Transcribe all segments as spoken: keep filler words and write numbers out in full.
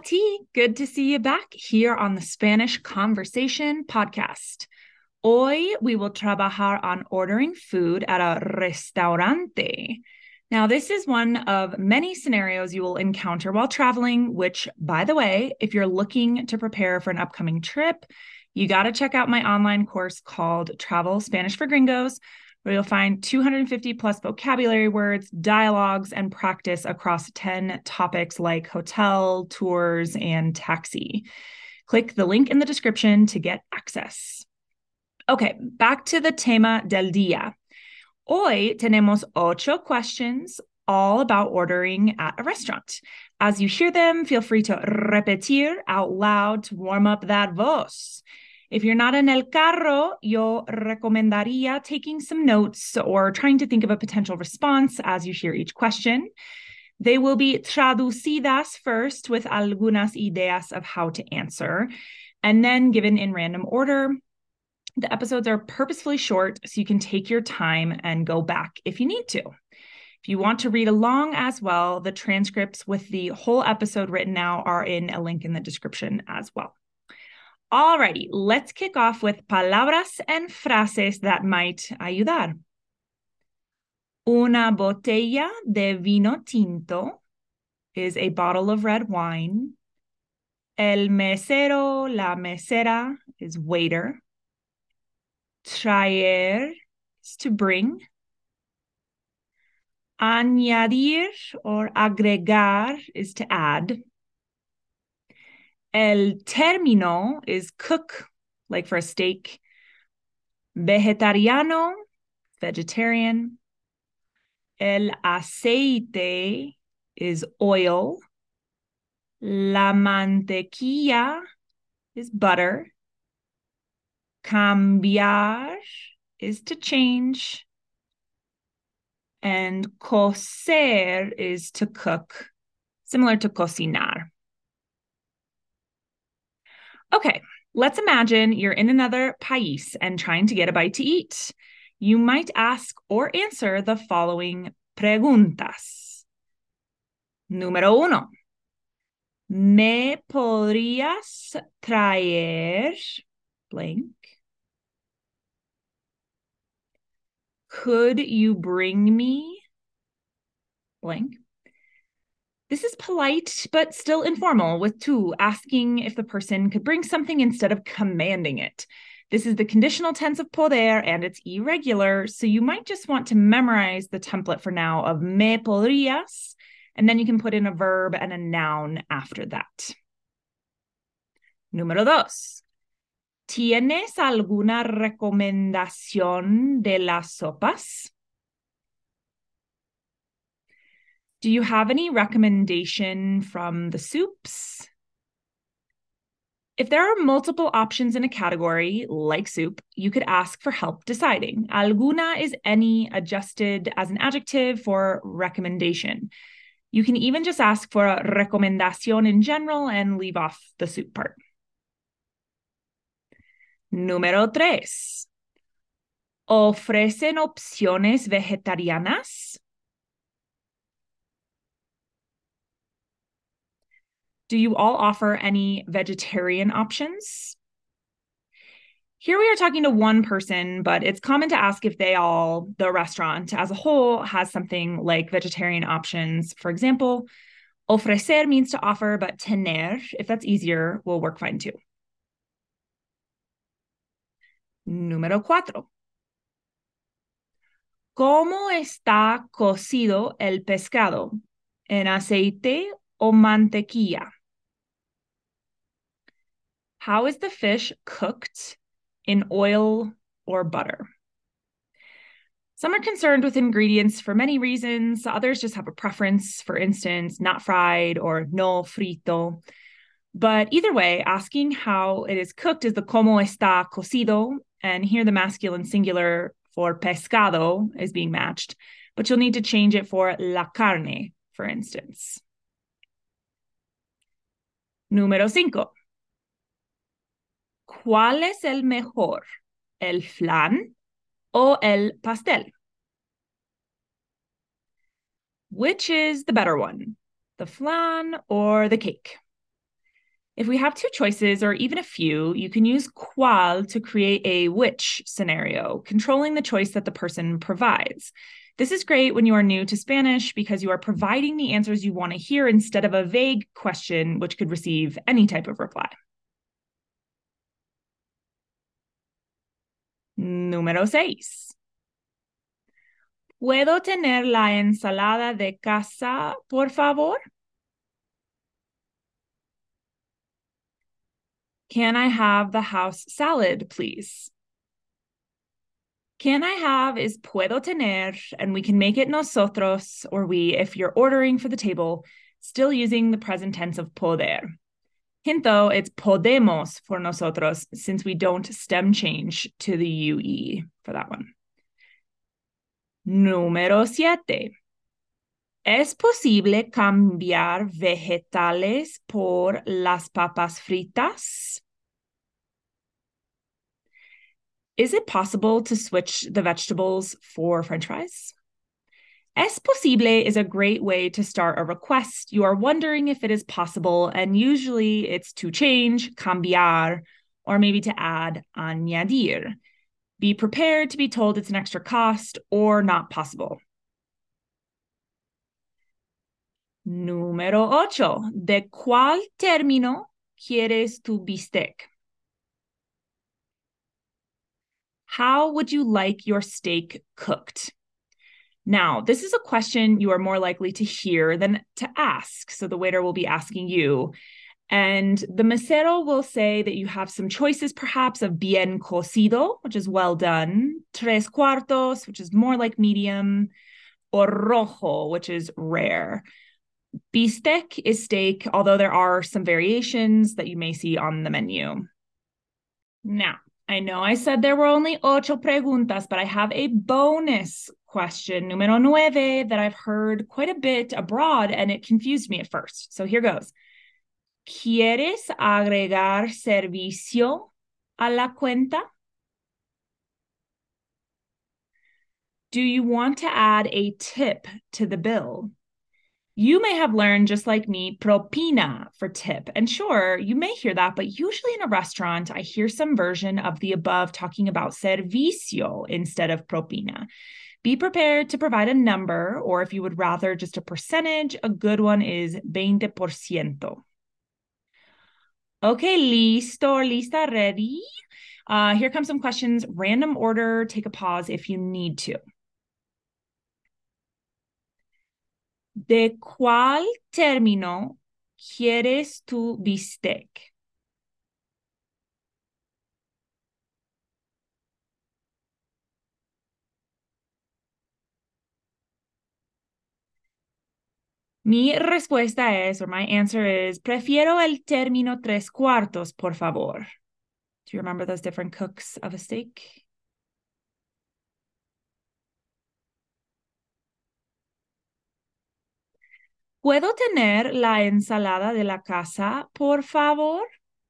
T. Good to see you back here on the Spanish Conversation podcast. Hoy we will trabajar on ordering food at a restaurante. Now, this is one of many scenarios you will encounter while traveling, which, by the way, if you're looking to prepare for an upcoming trip, you got to check out my online course called Travel Spanish for Gringos, where you'll find two hundred fifty plus vocabulary words, dialogues, and practice across ten topics like hotel, tours, and taxi. Click the link in the description to get access. Okay, back to the tema del día. Hoy tenemos ocho questions all about ordering at a restaurant. As you hear them, feel free to repetir out loud to warm up that voz. If you're not en el carro, yo recomendaría taking some notes or trying to think of a potential response as you hear each question. They will be traducidas first with algunas ideas of how to answer, and then given in random order. The episodes are purposefully short, so you can take your time and go back if you need to. If you want to read along as well, the transcripts with the whole episode written now are in a link in the description as well. Alrighty, let's kick off with palabras and frases that might ayudar. Una botella de vino tinto is a bottle of red wine. El mesero, la mesera is waiter. Traer is to bring. Añadir or agregar is to add. El término is cook, like for a steak. Vegetariano, vegetarian. El aceite is oil. La mantequilla is butter. Cambiar is to change. And cocer is to cook, similar to cocinar. Okay, let's imagine you're in another país and trying to get a bite to eat. You might ask or answer the following preguntas. Número uno. ¿Me podrías traer blank? Could you bring me blank? This is polite, but still informal, with tú asking if the person could bring something instead of commanding it. This is the conditional tense of poder, and it's irregular, so you might just want to memorize the template for now of me podrías, and then you can put in a verb and a noun after that. Número dos. ¿Tienes alguna recomendación de las sopas? Do you have any recommendation from the soups? If there are multiple options in a category, like soup, you could ask for help deciding. Alguna is any adjusted as an adjective for recommendation. You can even just ask for a recomendación in general and leave off the soup part. Número tres. ¿Ofrecen opciones vegetarianas? Do you all offer any vegetarian options? Here we are talking to one person, but it's common to ask if they all, the restaurant as a whole, has something like vegetarian options. For example, ofrecer means to offer, but tener, if that's easier, will work fine too. Número cuatro. ¿Cómo está cocido el pescado? ¿En aceite o mantequilla? How is the fish cooked? In oil or butter? Some are concerned with ingredients for many reasons. Others just have a preference, for instance, not fried or no frito. But either way, asking how it is cooked is the cómo está cocido, and here the masculine singular for pescado is being matched, but you'll need to change it for la carne, for instance. Número cinco. ¿Cuál es el mejor? ¿El flan o el pastel? Which is the better one, the flan or the cake? If we have two choices or even a few, you can use cuál to create a which scenario, controlling the choice that the person provides. This is great when you are new to Spanish because you are providing the answers you want to hear instead of a vague question, which could receive any type of reply. Número seis. ¿Puedo tener la ensalada de casa, por favor? Can I have the house salad, please? Can I have is puedo tener, and we can make it nosotros or we if you're ordering for the table, still using the present tense of poder. Hint though, it's podemos for nosotros since we don't stem change to the U E for that one. Número siete. ¿Es posible cambiar vegetales por las papas fritas? Is it possible to switch the vegetables for French fries? Es posible is a great way to start a request. You are wondering if it is possible, and usually it's to change, cambiar, or maybe to add, añadir. Be prepared to be told it's an extra cost or not possible. Número ocho. ¿De cuál término quieres tu bistec? How would you like your steak cooked? Now, this is a question you are more likely to hear than to ask. So the waiter will be asking you. And the mesero will say that you have some choices, perhaps, of bien cocido, which is well done, tres cuartos, which is more like medium, or rojo, which is rare. Bistec is steak, although there are some variations that you may see on the menu. Now, I know I said there were only ocho preguntas, but I have a bonus question, número nueve, that I've heard quite a bit abroad, and it confused me at first. So here goes. ¿Quieres agregar servicio a la cuenta? Do you want to add a tip to the bill? You may have learned, just like me, propina for tip. And sure, you may hear that, but usually in a restaurant, I hear some version of the above talking about servicio instead of propina. Be prepared to provide a number, or if you would rather just a percentage, a good one is veinte por ciento. Okay, listo or lista, ready? Uh, here come some questions. Random order, take a pause if you need to. ¿De cuál término quieres tu bistec? Mi respuesta es, or my answer is, prefiero el término tres cuartos, por favor. Do you remember those different cooks of a steak? ¿Puedo tener la ensalada de la casa, por favor?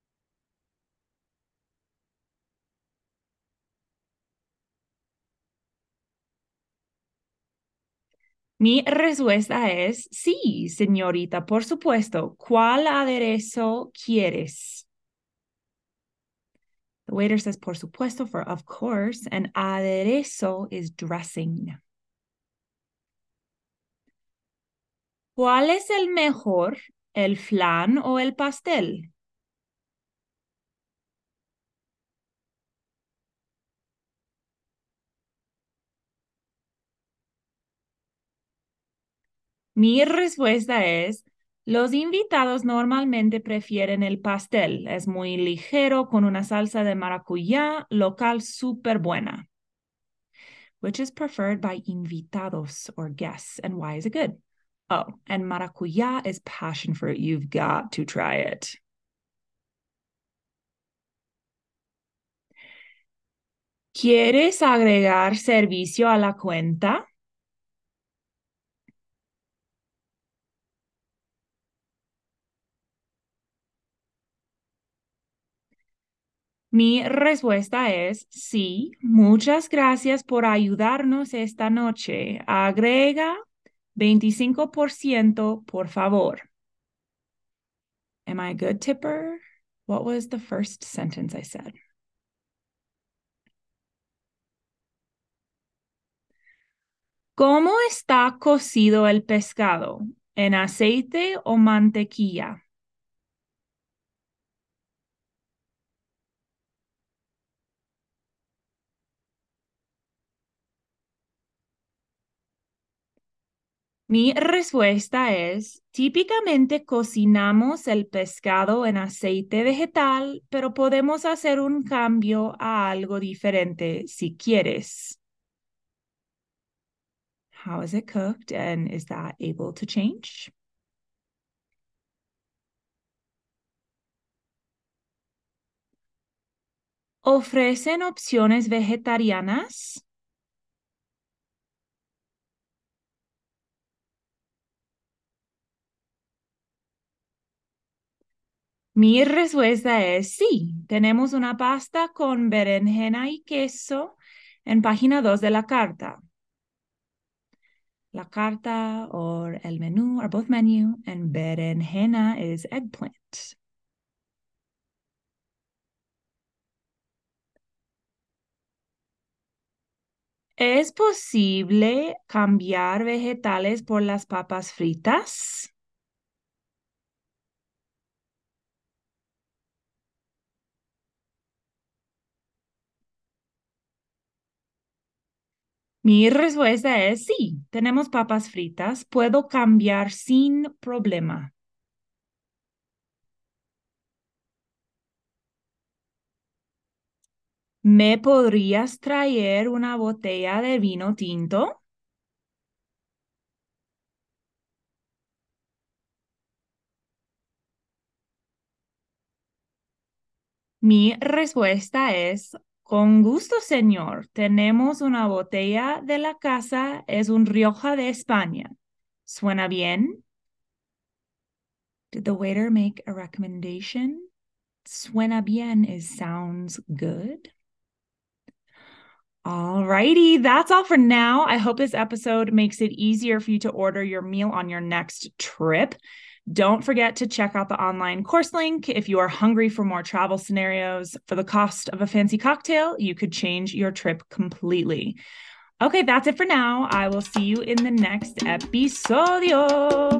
Mi respuesta es sí, señorita, por supuesto. ¿Cuál aderezo quieres? The waiter says por supuesto for of course, and aderezo is dressing. ¿Cuál es el mejor, el flan o el pastel? Mi respuesta es, los invitados normalmente prefieren el pastel. Es muy ligero con una salsa de maracuyá local súper buena. Which is preferred by invitados or guests, and why is it good? Oh, and maracuyá is passion fruit. You've got to try it. ¿Quieres agregar servicio a la cuenta? Mi respuesta es sí. Muchas gracias por ayudarnos esta noche. Agrega veinticinco por ciento, por favor. Am I a good tipper? What was the first sentence I said? ¿Cómo está cocido el pescado? ¿En aceite o mantequilla? Mi respuesta es, típicamente cocinamos el pescado en aceite vegetal, pero podemos hacer un cambio a algo diferente si quieres. How is it cooked and is that able to change? ¿Ofrecen opciones vegetarianas? Mi respuesta es sí. Tenemos una pasta con berenjena y queso en página dos de la carta. La carta or el menú are both menu and berenjena is eggplant. ¿Es posible cambiar vegetales por las papas fritas? Mi respuesta es sí. Tenemos papas fritas. Puedo cambiar sin problema. ¿Me podrías traer una botella de vino tinto? Mi respuesta es, con gusto, señor. Tenemos una botella de la casa, es un Rioja de España. ¿Suena bien? Did the waiter make a recommendation? Suena bien is sounds good. Alrighty, that's all for now. I hope this episode makes it easier for you to order your meal on your next trip. Don't forget to check out the online course link. If you are hungry for more travel scenarios for the cost of a fancy cocktail, you could change your trip completely. Okay, that's it for now. I will see you in the next episodio.